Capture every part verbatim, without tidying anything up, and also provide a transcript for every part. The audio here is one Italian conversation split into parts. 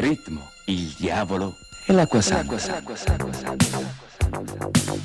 ritmo, il diavolo e l'acqua santa. L'acqua santa, l'acqua santa, l'acqua santa.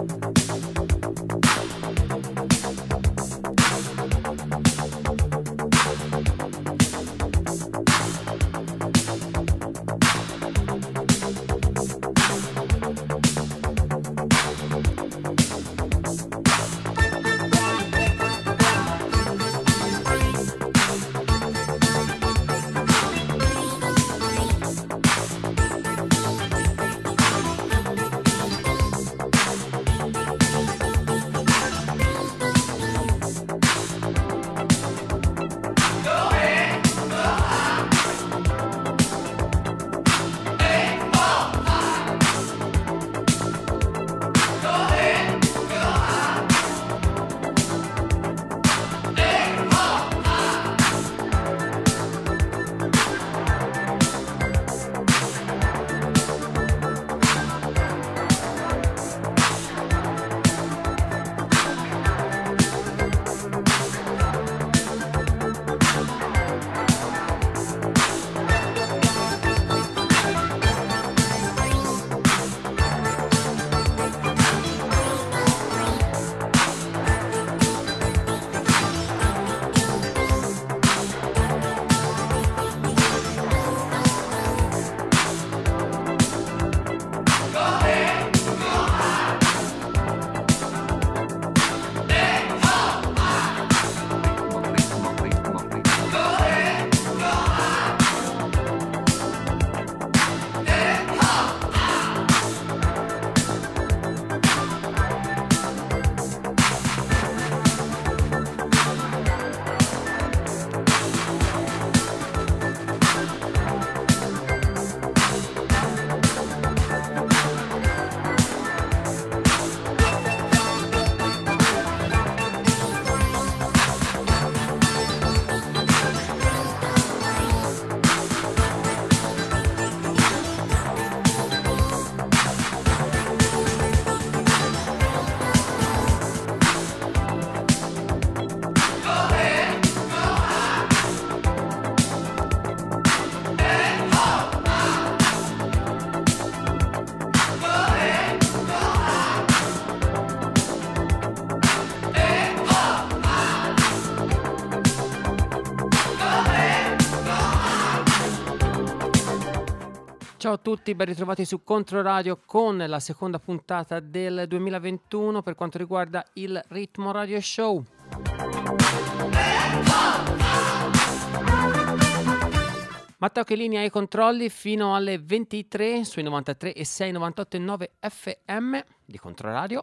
Ciao a tutti, ben ritrovati su Controradio con la seconda puntata del duemilaventuno per quanto riguarda il Ritmo Radio Show. Matteo Chelini ai controlli fino alle ventitré sui novantatré e sei, novantotto e nove F M di Controradio.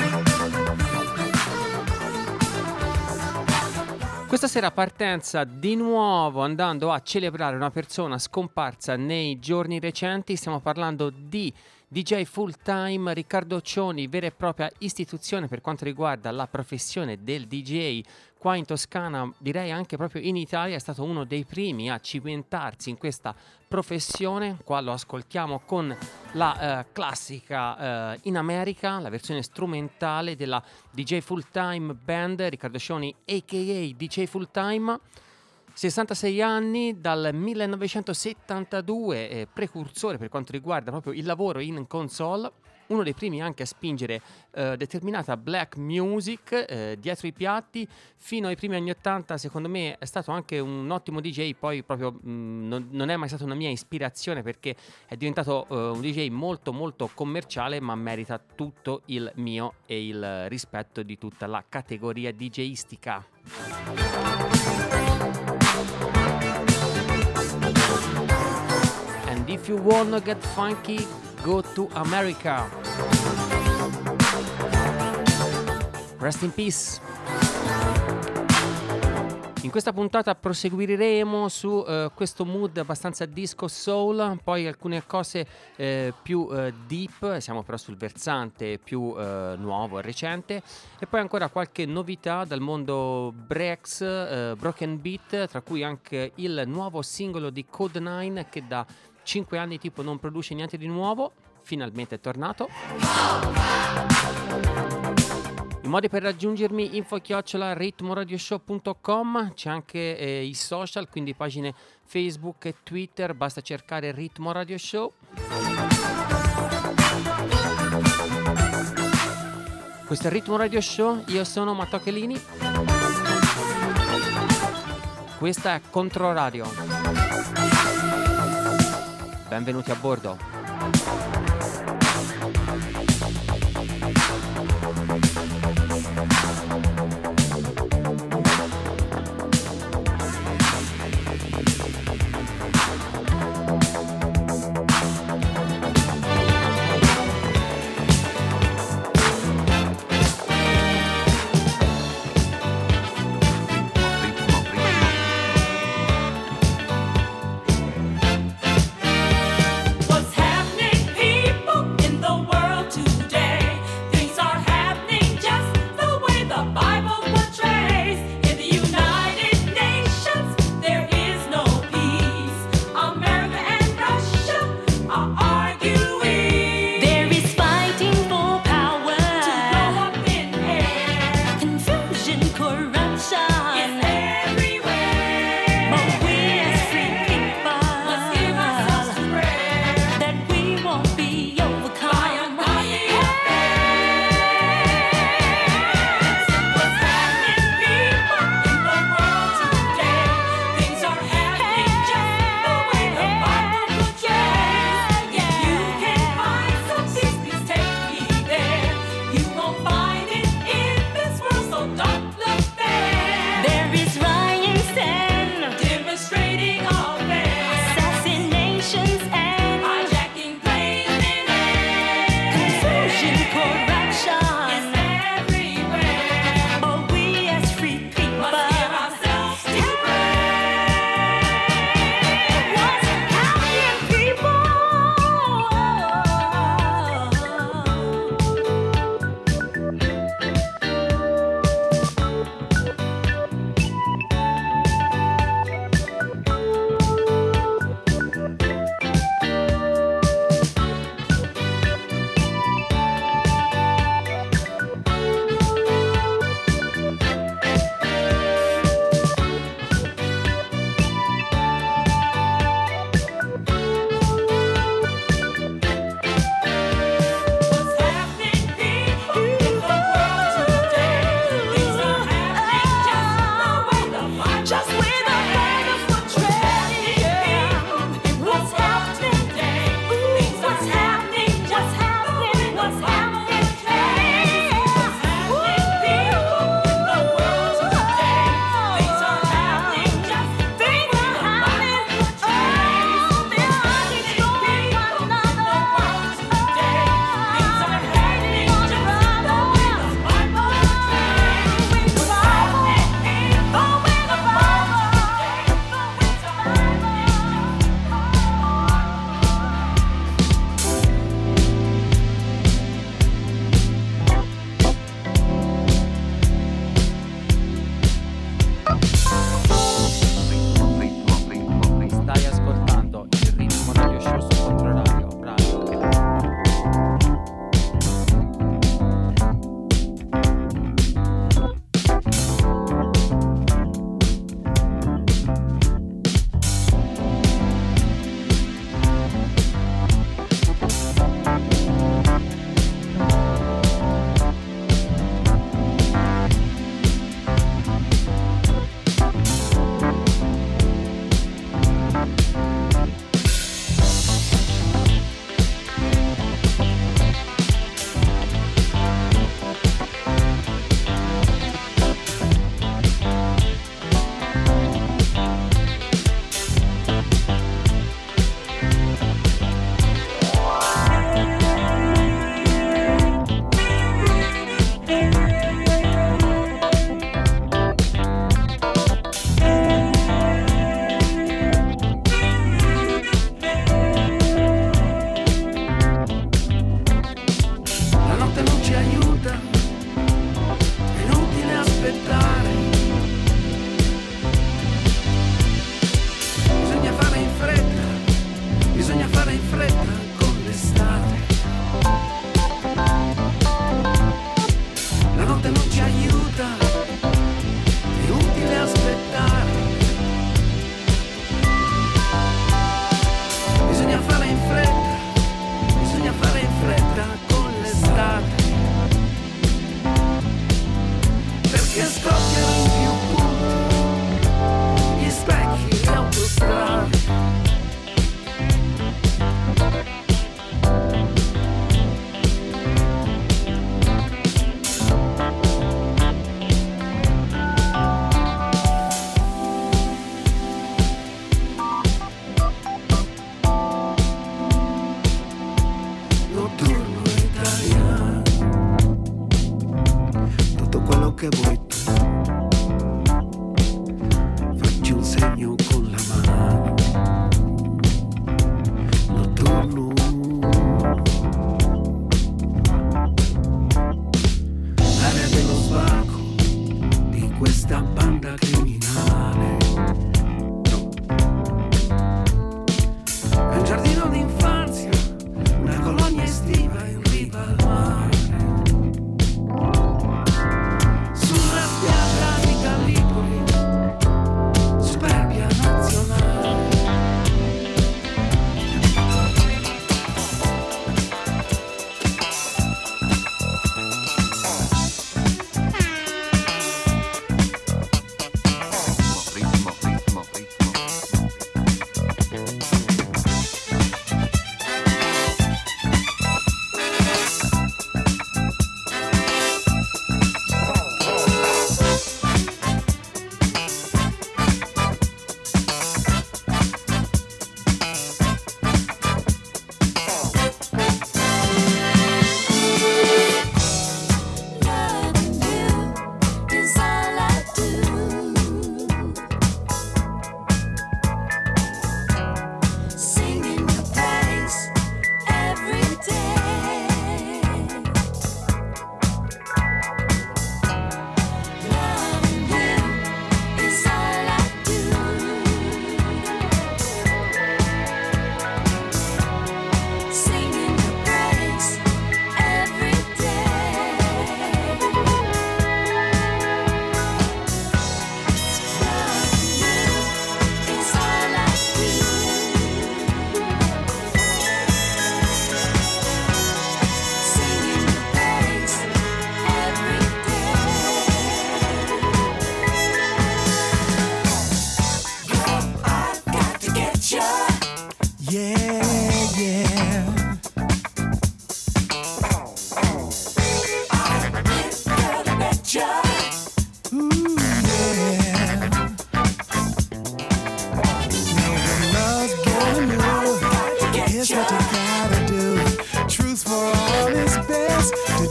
Questa sera partenza di nuovo andando a celebrare una persona scomparsa nei giorni recenti. Stiamo parlando di D J full time Riccardo Cioni, vera e propria istituzione per quanto riguarda la professione del D J qua in Toscana, direi anche proprio in Italia. È stato uno dei primi a cimentarsi in questa professione. Qua lo ascoltiamo con la eh, classica eh, in America, la versione strumentale della D J full time band Riccardo Cioni a k a. D J full time. sessantasei anni, dal millenovecentosettantadue, eh, precursore per quanto riguarda proprio il lavoro in console, uno dei primi anche a spingere eh, determinata black music eh, dietro i piatti. Fino ai primi anni ottanta secondo me è stato anche un ottimo D J, poi proprio mh, non, non è mai stata una mia ispirazione perché è diventato eh, un D J molto molto commerciale, ma merita tutto il mio e il rispetto di tutta la categoria DJistica. And if you wanna get funky, go to America. Rest in peace. In questa puntata proseguiremo su uh, questo mood abbastanza disco soul, poi alcune cose uh, più uh, deep, siamo però sul versante più uh, nuovo e recente, e poi ancora qualche novità dal mondo breaks, uh, broken beat, tra cui anche il nuovo singolo di Code nine che da cinque anni tipo non produce niente di nuovo, finalmente è tornato. I modi per raggiungermi: info chiocciola ritmoradioshow punto com, c'è anche eh, i social, quindi pagine Facebook e Twitter, basta cercare Ritmo Radio Show. Questo è il Ritmo Radio Show, io sono Matteo Chelini, questa è Controradio, benvenuti a bordo. What's happening, people?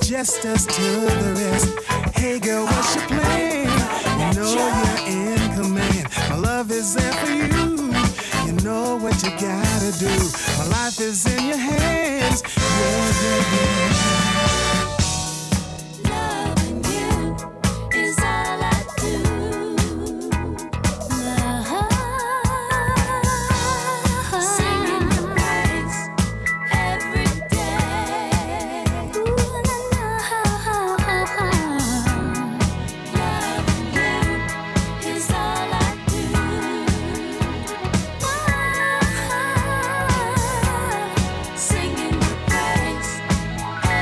just us to the rest. Hey girl, what's your plan? You know you're in command. My love is there for you. You know what you gotta do. My life is in your hands. Yeah, yeah, yeah. Singing your praise.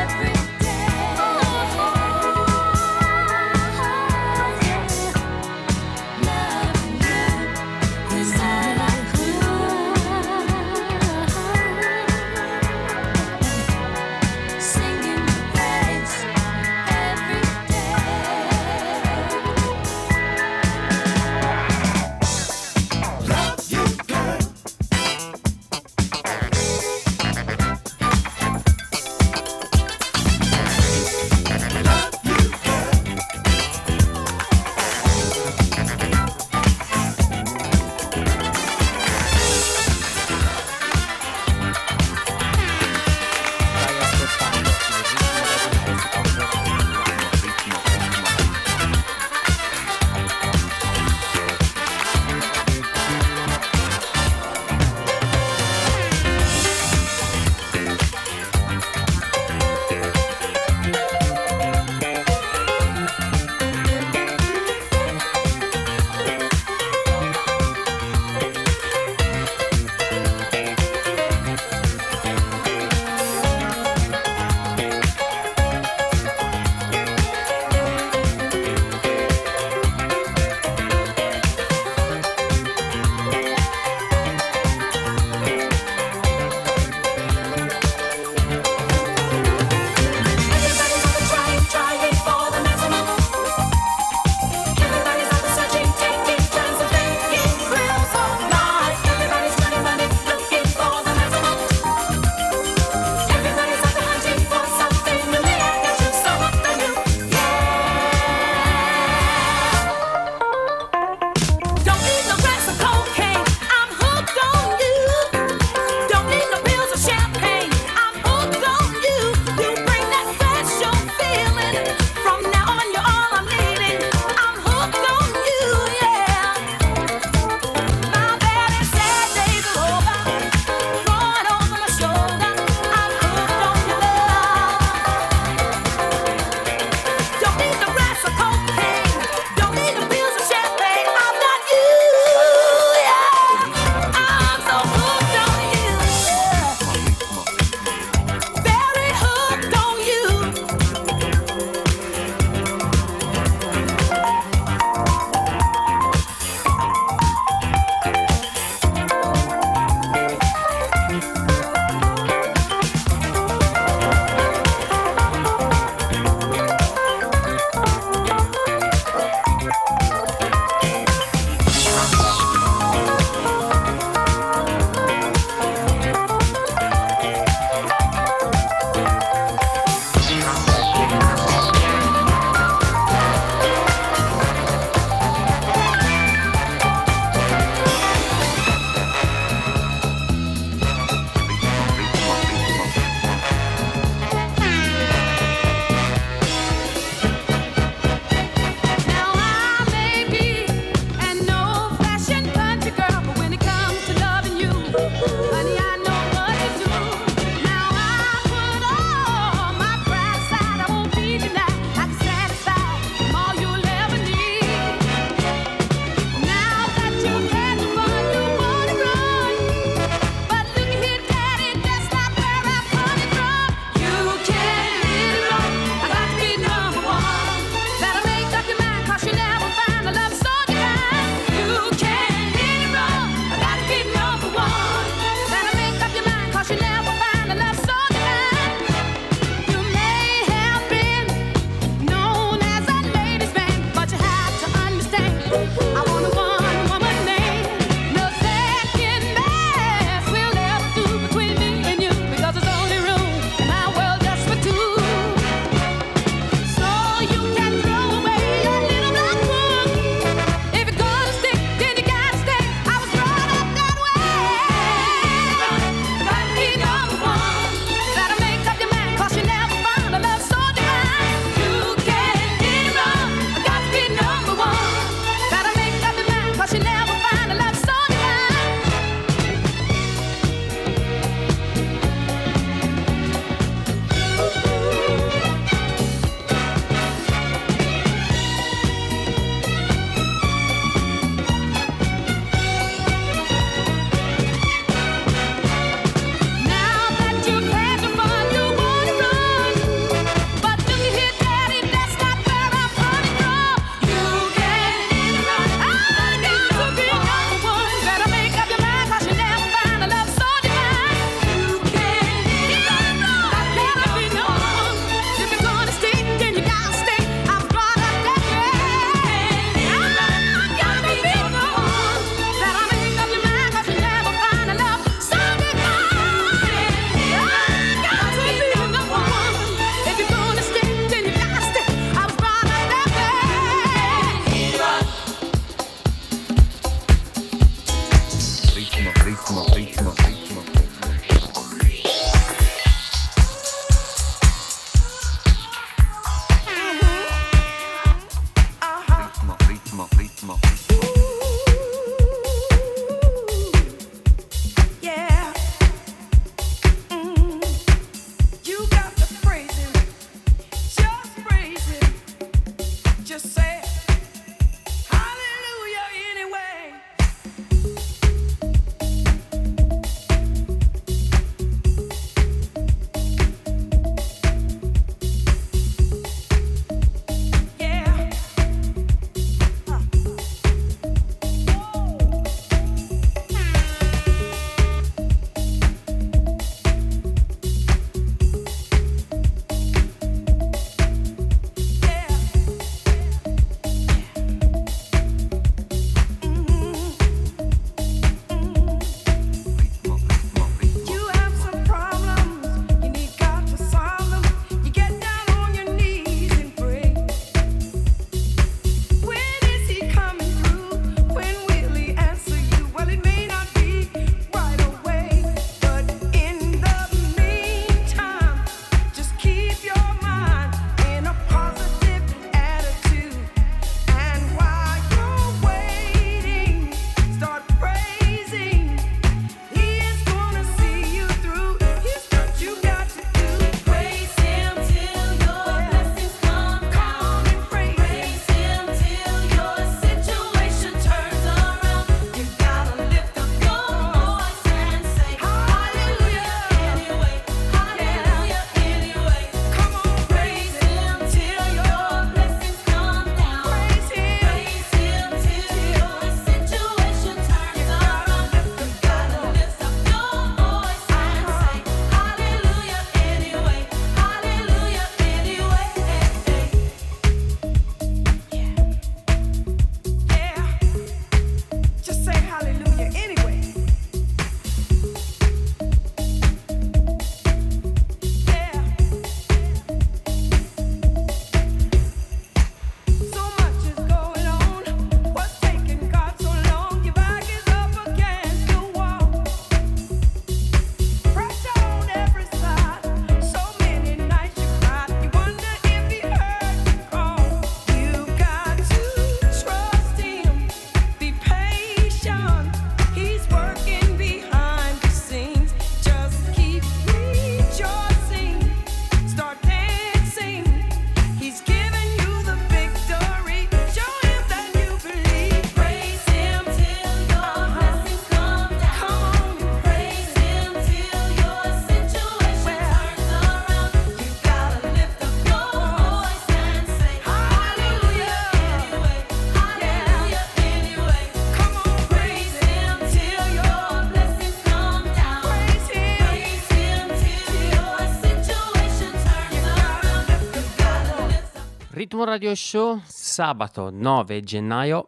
Ritmo Radio Show, sabato nove gennaio.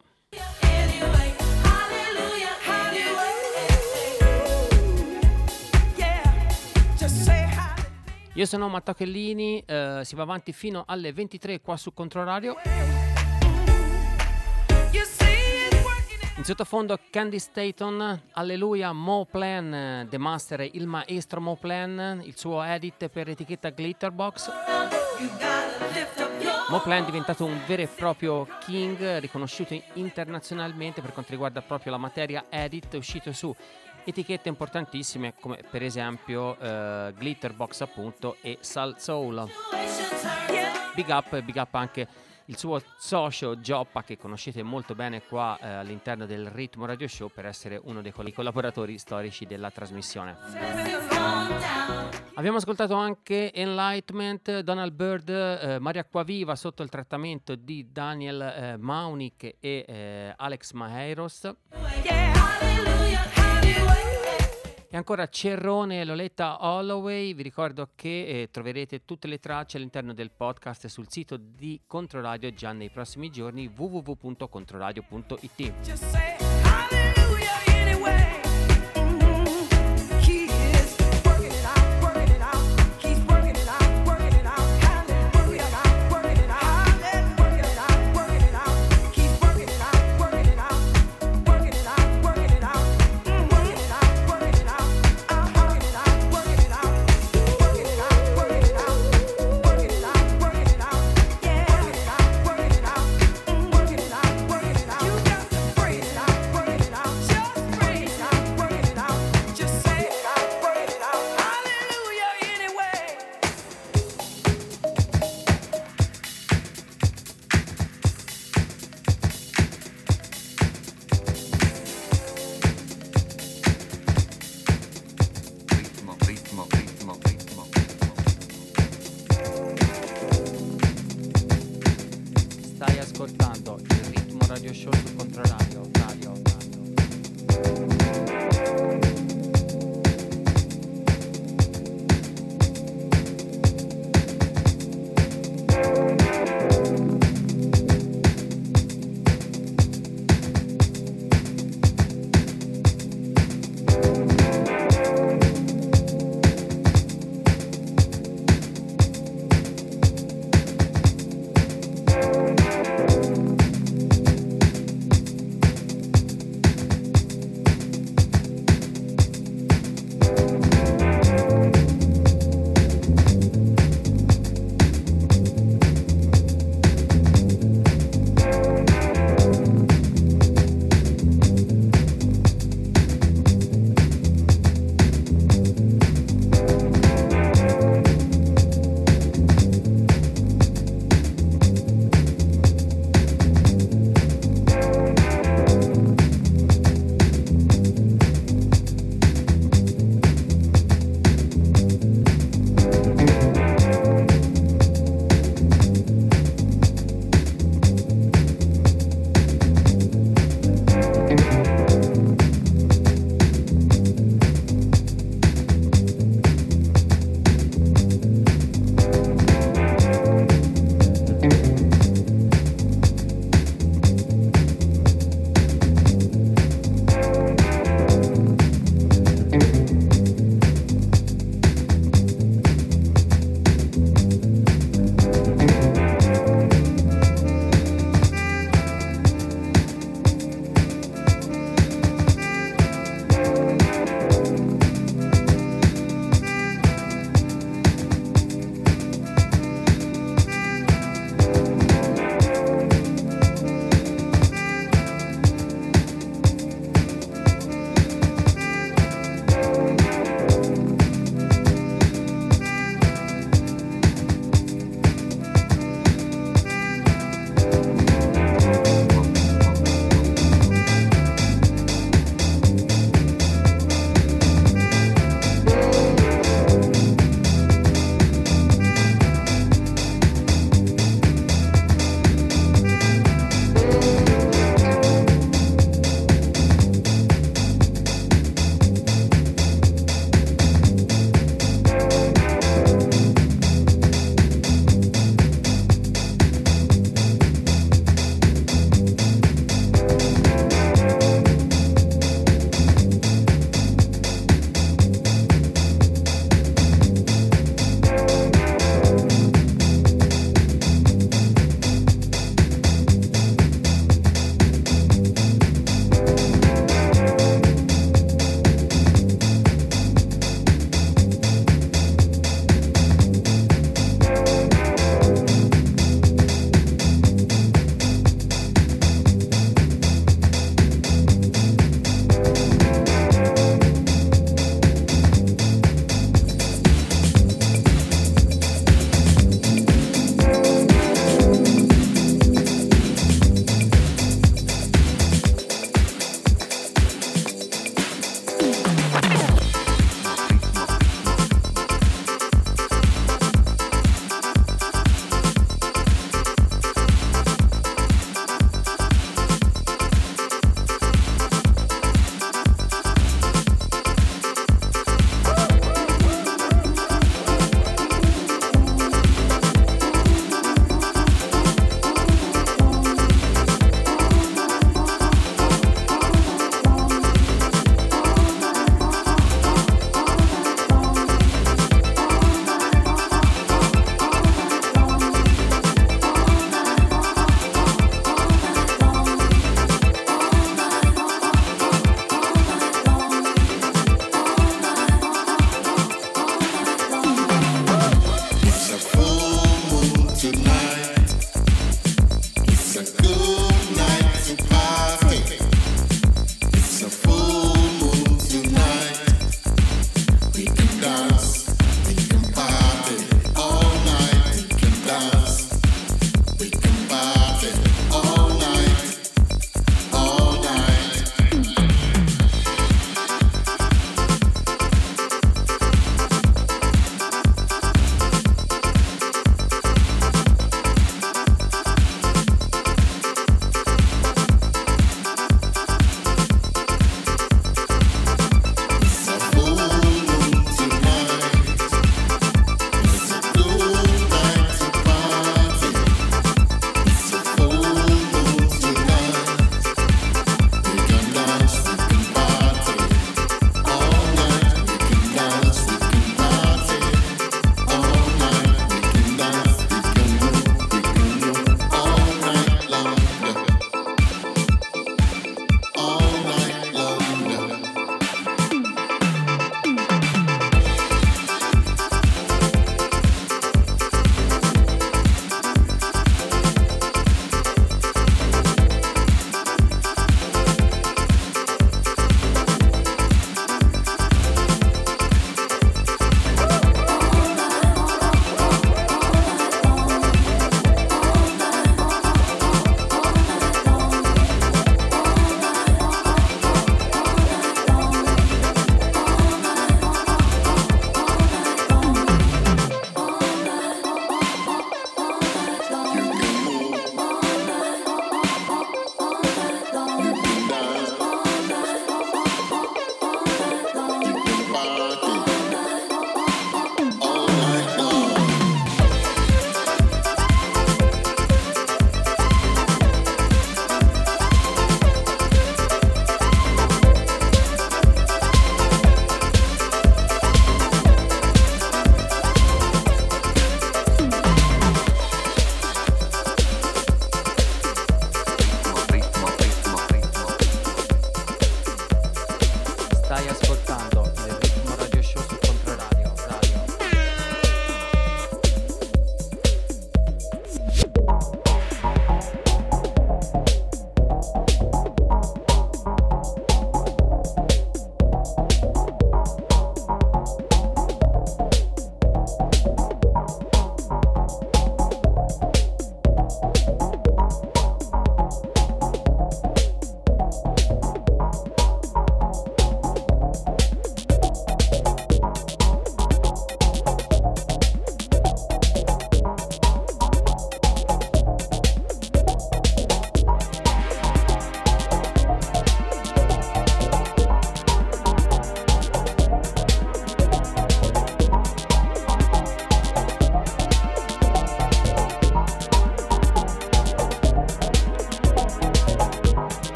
Io sono Matteo Chellini, eh, si va avanti fino alle ventitré qua su Controradio. In sottofondo Candy Staton, Alleluia, Mo Plan, The Master, il maestro Mo Plan, il suo edit per etichetta Glitterbox. Mo Plan è diventato un vero e proprio king, riconosciuto internazionalmente per quanto riguarda proprio la materia edit, è uscito su etichette importantissime come per esempio eh, Glitterbox appunto e Salt Soul. Big up, big up anche il suo socio Gioppa, che conoscete molto bene qua eh, all'interno del Ritmo Radio Show per essere uno dei collaboratori storici della trasmissione. Abbiamo ascoltato anche Enlightenment, Donald Byrd, eh, Maria Acquaviva sotto il trattamento di Daniel eh, Maunick e eh, Alex Maheiros. E ancora Cerrone e Loletta Holloway. Vi ricordo che eh, troverete tutte le tracce all'interno del podcast sul sito di Controradio già nei prossimi giorni, w w w punto controradio punto i t.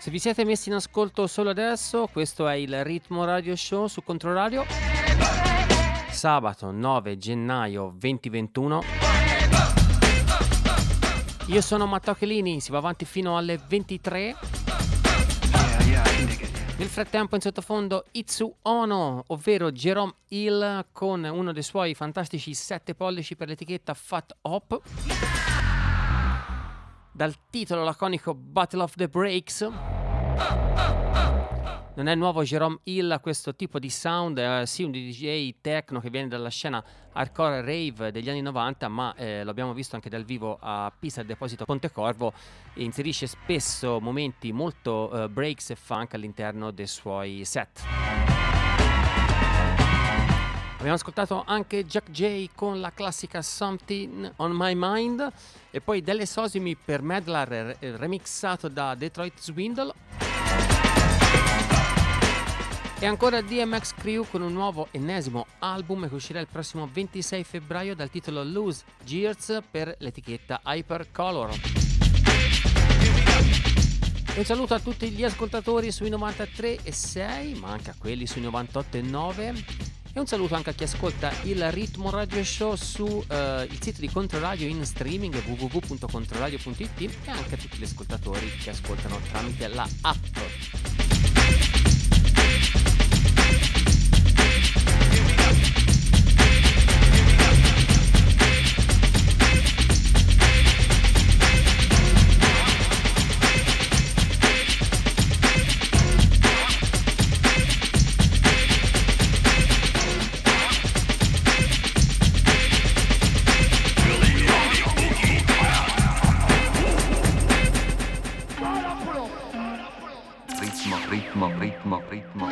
Se vi siete messi in ascolto solo adesso, questo è il Ritmo Radio Show su Controradio. Sabato nove gennaio duemilaventuno. Io sono Matteo Chelini, si va avanti fino alle ventitré. Nel frattempo in sottofondo Itsu Ono, ovvero Jerome Hill, con uno dei suoi fantastici sette pollici per l'etichetta Fat Hop. Dal titolo laconico Battle of the Breaks. Non è nuovo Jerome Hill a questo tipo di sound, è sì un D J techno che viene dalla scena hardcore rave degli anni novanta, ma eh, lo abbiamo visto anche dal vivo a Pisa al Deposito Pontecorvo, e inserisce spesso momenti molto uh, breaks e funk all'interno dei suoi set. Abbiamo ascoltato anche Jack J con la classica Something on My Mind, e poi Delle Sosimi per Medlar, remixato da Detroit Swindle. E ancora D M X Crew con un nuovo ennesimo album che uscirà il prossimo ventisei febbraio dal titolo Loose Gears per l'etichetta Hypercolor. Un saluto a tutti gli ascoltatori sui novantatré e sei, ma anche a quelli sui novantotto e nove. E un saluto anche a chi ascolta il Ritmo Radio Show su uh, il sito di Controradio in streaming w w w punto controradio punto i t, e anche a tutti gli ascoltatori che ascoltano tramite la app. Ritmo, ritmo, ritmo, ritmo.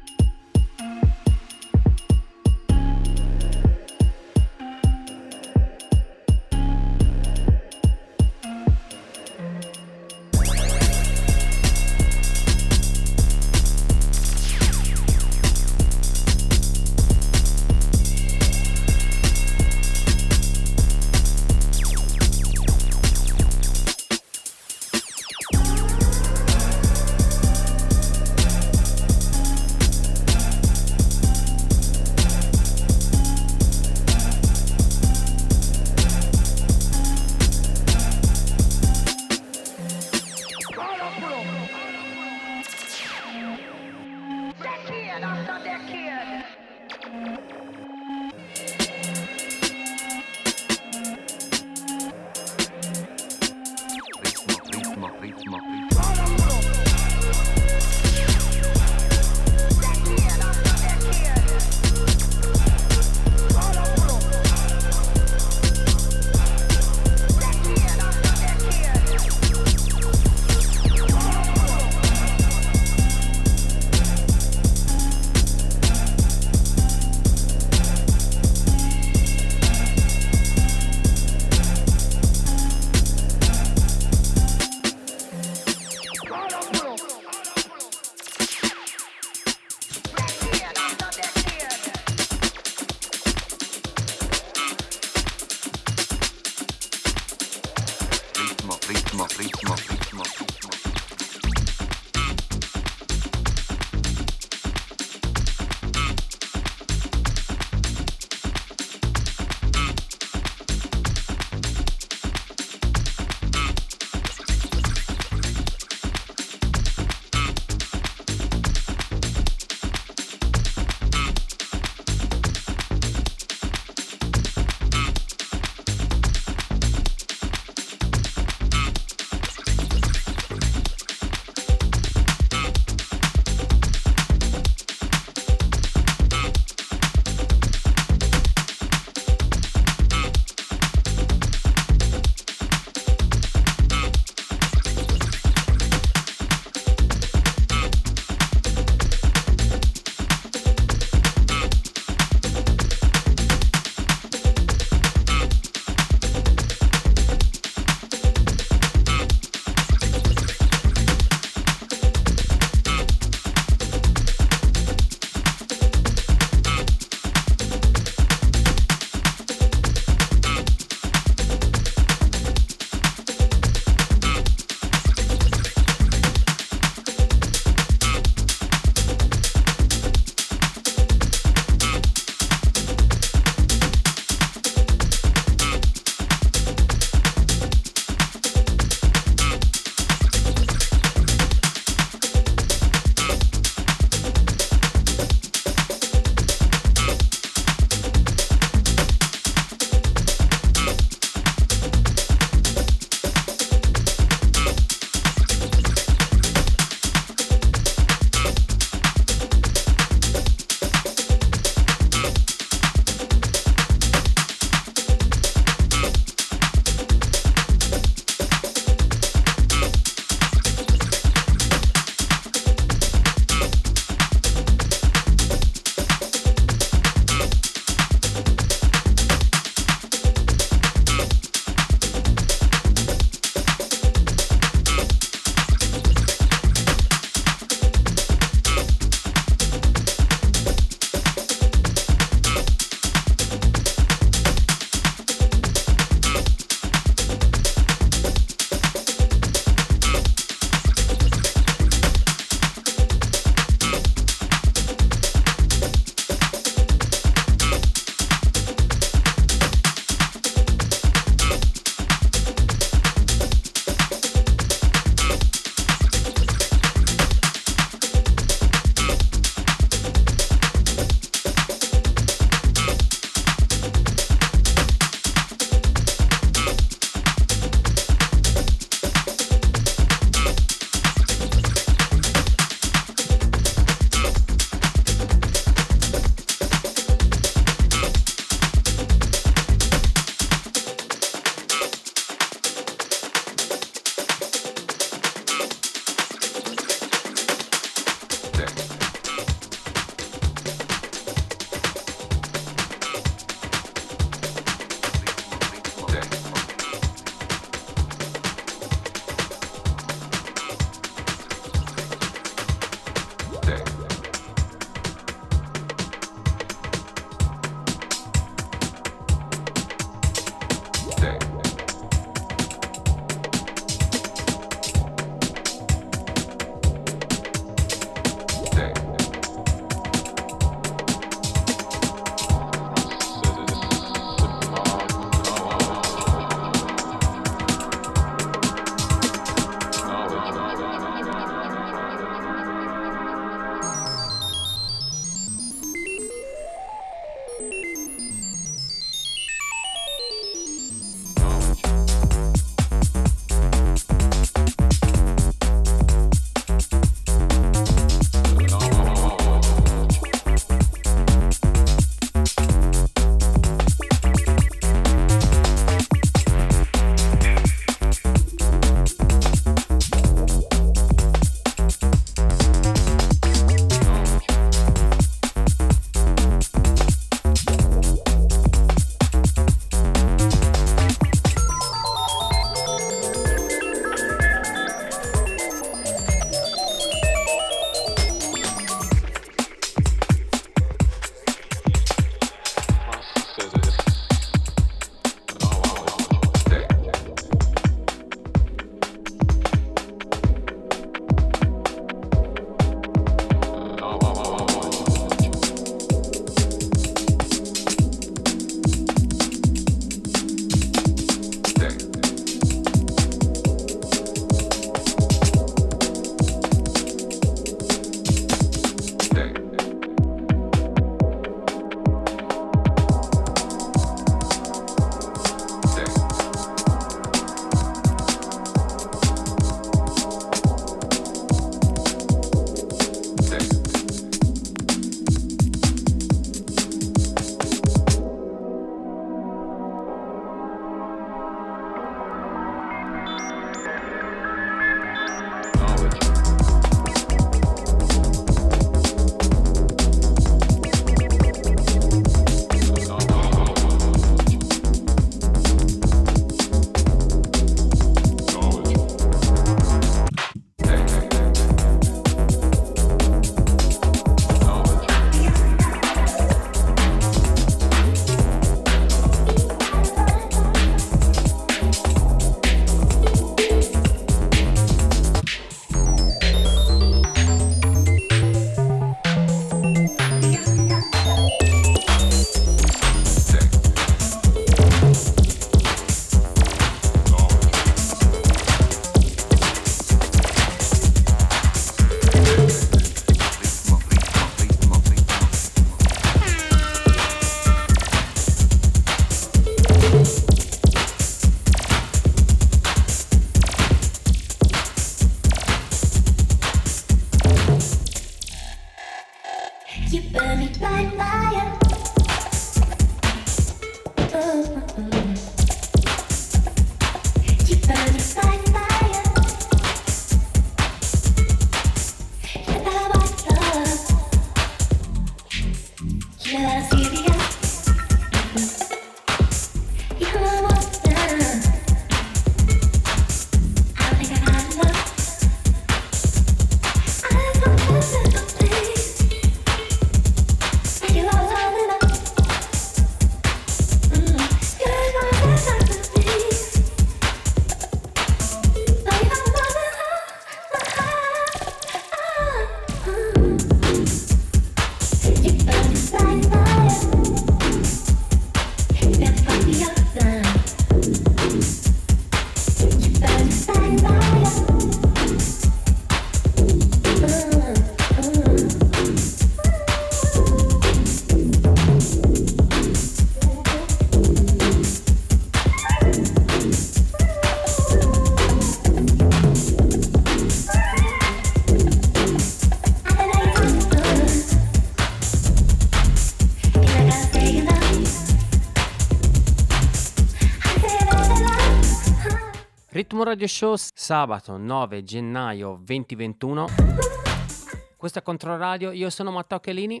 Ritmo Radio Show, sabato nove gennaio duemilaventuno. Questo è Controradio, io sono Matteo Chelini.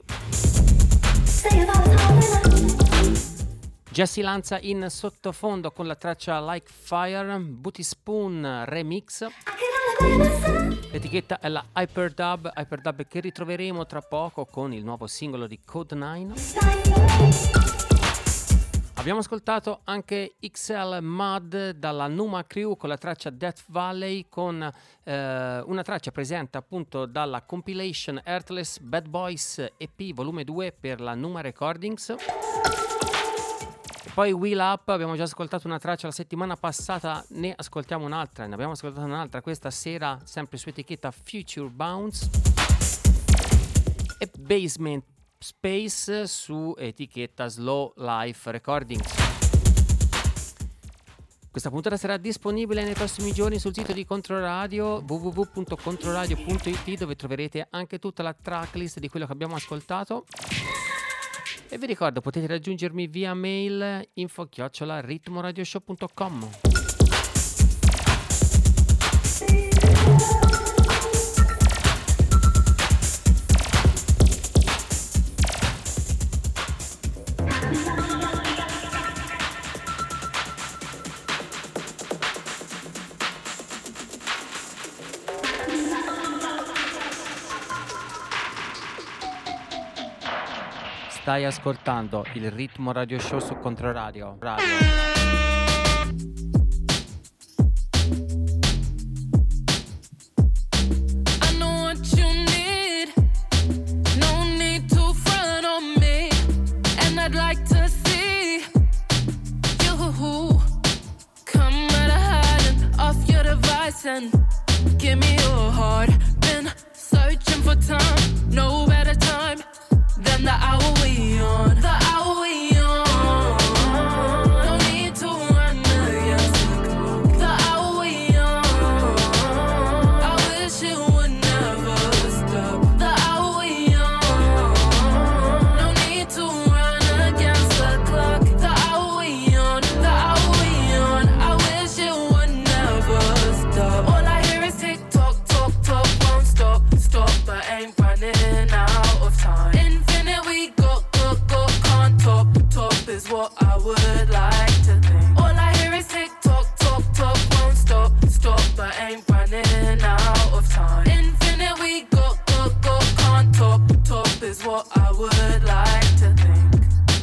Jesse Lanza in sottofondo con la traccia Like Fire, Booty Spoon Remix. L'etichetta è la Hyperdub, Hyperdub che ritroveremo tra poco con il nuovo singolo di Code nine. Abbiamo ascoltato anche X L Mud dalla Numa Crew con la traccia Death Valley, con eh, una traccia presente appunto dalla compilation Earthless Bad Boys E P volume due per la Numa Recordings. Poi Wheel Up, abbiamo già ascoltato una traccia la settimana passata, ne ascoltiamo un'altra, ne abbiamo ascoltato un'altra questa sera, sempre su etichetta Future Bounce. E Basement Space su etichetta Slow Life Recordings. Questa puntata sarà disponibile nei prossimi giorni sul sito di Controradio w w w punto controradio punto i t, dove troverete anche tutta la tracklist di quello che abbiamo ascoltato. E vi ricordo, potete raggiungermi via mail info chiocciola ritmoradioshow punto com. Stai ascoltando il Ritmo Radio Show su Controradio. Radio. And give me your heart. Been searching for time, no better time than the hour we on. The hour we on. No need to run against the clock. The hour we on. I wish it would never stop. The hour we on. No need to run against the clock. The hour we on. The hour we on. I wish it would never stop. All I hear is tick tock, talk, talk, won't stop, stop, but ain't running out of time. Infinite we go, go, go, can't top, top is what I would like to think. All I hear is tick tock, talk, talk, won't stop, stop, but ain't running out of time. Infinite we go, go, go, can't top, top is what I would like to think.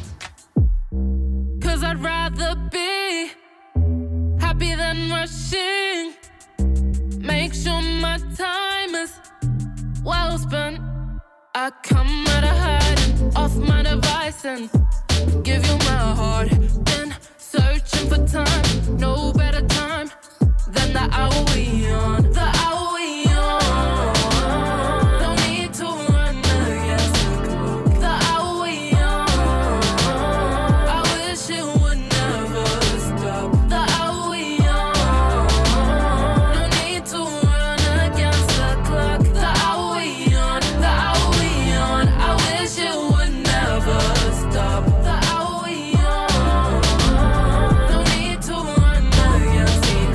Cause I'd rather be happy than rushing. Make sure my time is well spent. I come out of hiding, off my device and give you my heart. Been searching for time, no better time than the hour we on. The hour we on. No need to run against the clock. The hour we on. I wish it would never stop. The hour we on. No need to run against the clock. The hour we on. The hour we on. I wish it would never stop. The hour we on. No need to run against the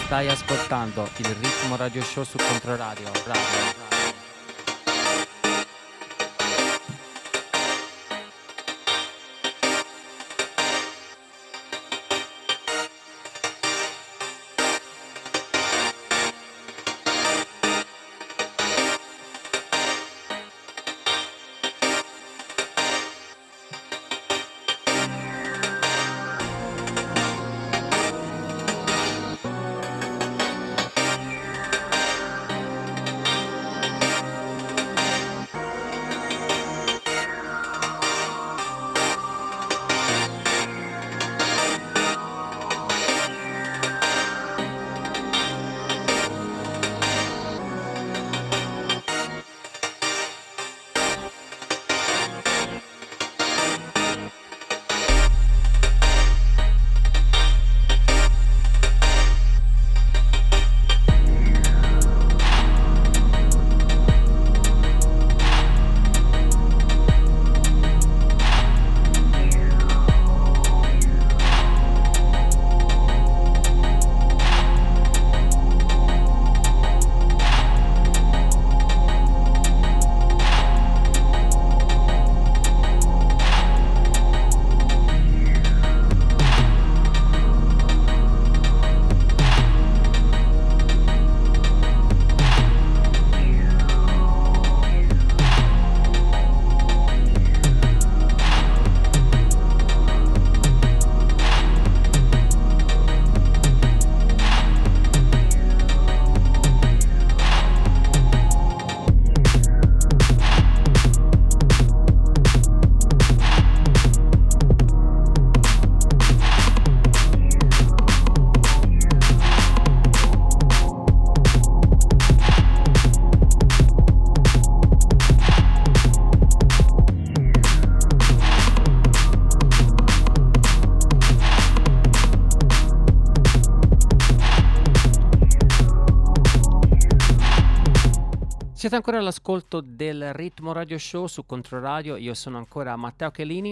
Stai ascoltando il Ritmo Radio Show su Controradio. Radio, radio. Siete ancora all'ascolto del Ritmo Radio Show su Controradio, io sono ancora Matteo Chelini.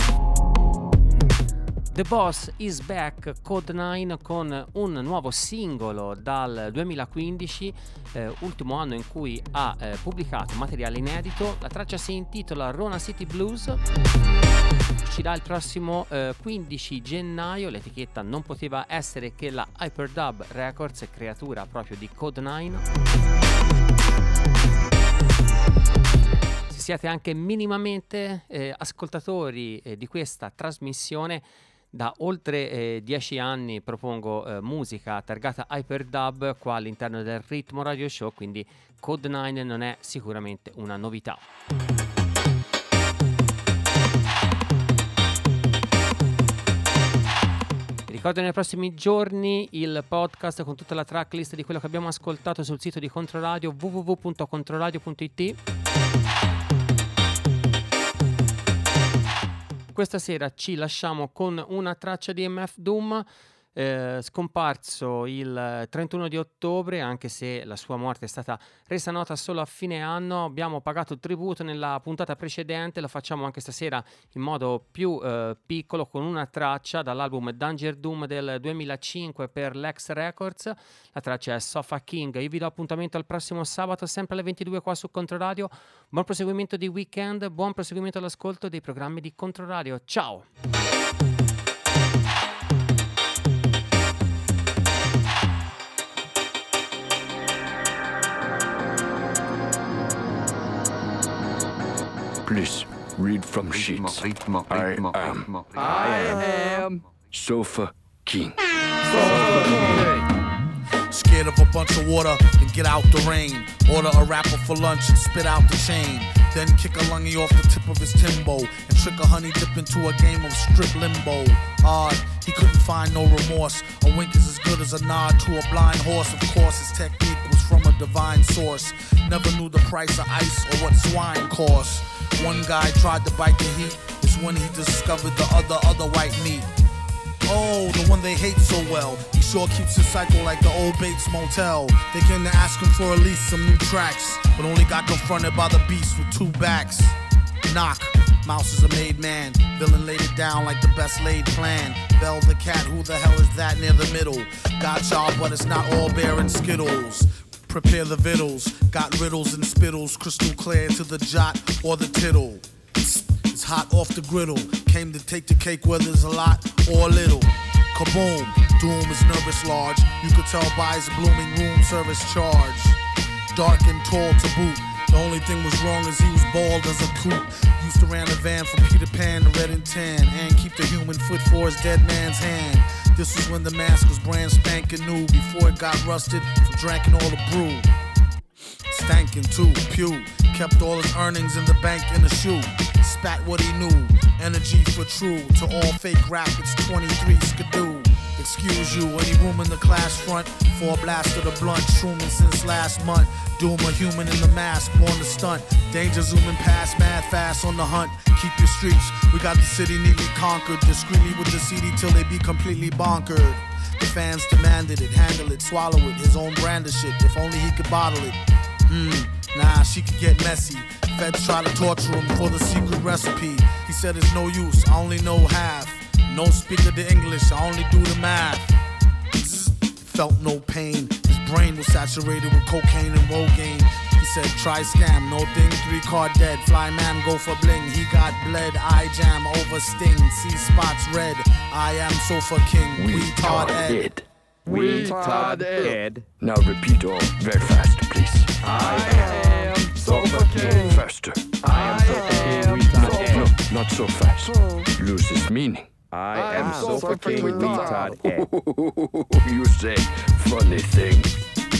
The Boss is Back, Code nine, con un nuovo singolo dal duemilaquindici, eh, ultimo anno in cui ha eh, pubblicato materiale inedito. La traccia si intitola Rona City Blues, uscirà il prossimo eh, quindici gennaio. L'etichetta non poteva essere che la Hyperdub Records, creatura proprio di Code nine. Se siete anche minimamente eh, ascoltatori eh, di questa trasmissione, da oltre eh, dieci anni propongo eh, musica targata Hyperdub qua all'interno del Ritmo Radio Show, quindi Code nine non è sicuramente una novità. Ricordo nei prossimi giorni il podcast con tutta la tracklist di quello che abbiamo ascoltato sul sito di Controradio, w w w punto controradio punto i t. Questa sera ci lasciamo con una traccia di M F Doom, eh, scomparso il trentuno di ottobre, anche se la sua morte è stata resa nota solo a fine anno. Abbiamo pagato tributo nella puntata precedente, lo facciamo anche stasera in modo più eh, piccolo, con una traccia dall'album Danger Doom del duemilacinque per Lex Records. La traccia è Sofa King. Io vi do appuntamento al prossimo sabato sempre alle ventidue qua su Controradio. Buon proseguimento di weekend, buon proseguimento all'ascolto dei programmi di Controradio. Ciao! Please read from sheets. I am. I am Sofa King. Scared of a bunch of water, then get out the rain. Order a rapper for lunch and spit out the chain. Then kick a lungy off the tip of his Timbo and trick a honey dip into a game of strip limbo. Odd, he couldn't find no remorse. A wink is as good as a nod to a blind horse. Of course, his technique was from a divine source. Never knew the price of ice or what swine costs. One guy tried to bite the heat. It's when he discovered the other, other white meat. Oh, the one they hate so well. He sure keeps his cycle like the old Bates Motel. They came to ask him for at least some new tracks, but only got confronted by the beast with two backs. Knock, Mouse is a made man. Villain laid it down down like the best laid plan. Bell the cat, who the hell is that near the middle? Got y'all, but it's not all bear and skittles. Prepare the vittles, got riddles and spittles, crystal clear to the jot or the tittle. It's hot off the griddle, came to take the cake whether it's a lot or a little. Kaboom, doom is nervous large, you could tell by his blooming room service charge. Dark and tall to boot, the only thing was wrong is he was bald as a coot. Used to ran a van from Peter Pan to Red and Tan, and keep the human foot for his dead man's hand. This was when the mask was brand spanking new, before it got rusted from drinking all the brew. Stankin' too, pew, kept all his earnings in the bank in a shoe. Spat what he knew, energy for true. To all fake rap, it's twenty-three skidoo. Excuse you, any room in the class front for a blast of the blunt. Shrooming since last month. Doom a human in the mask, born to stunt. Danger zooming past, mad fast on the hunt. Keep your streets, we got the city neatly conquered. Discreetly with the C D till they be completely bonkered. The fans demanded it, handle it, swallow it. His own brand of shit, if only he could bottle it. Hmm, nah, she could get messy. Feds try to torture him for the secret recipe. He said it's no use, I only know half. No speaker to English, I only do the math. Zzz, felt no pain. His brain was saturated with cocaine and Rogaine. He said try scam, no thing, three card dead. Fly man go for bling, he got bled. Eye jam over sting, see spots red. I am sofa king, we Todd Ed. We Todd Ed. Now repeat all very fast, please. I am Sofa King. Faster. I am Sofa King. We Todd Ed. No, not so fast. Loses meaning. I am Sofa King. We Todd Ed. You say funny things.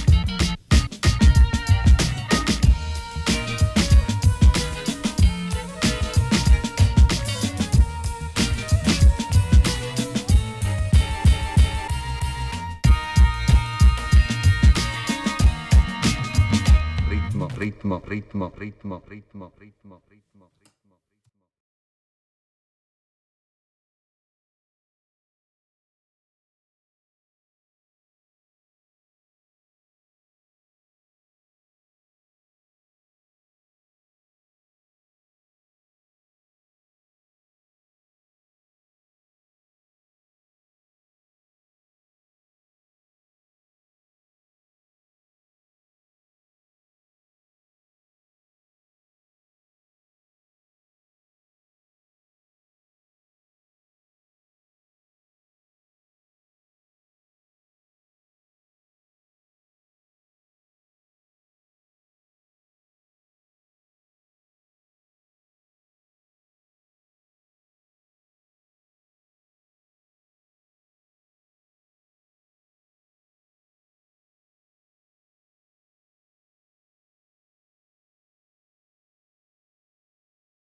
Ritmo, ritmo, ritmo, ritmo, ritmo, ritmo, ritmo.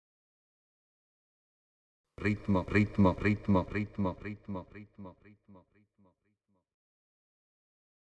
Ritmo, ritmo, ritmo, ritmo, ritmo, ritmo, ritmo.